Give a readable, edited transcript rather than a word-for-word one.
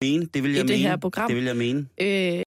det vil jeg i det her program. Det vil jeg mene.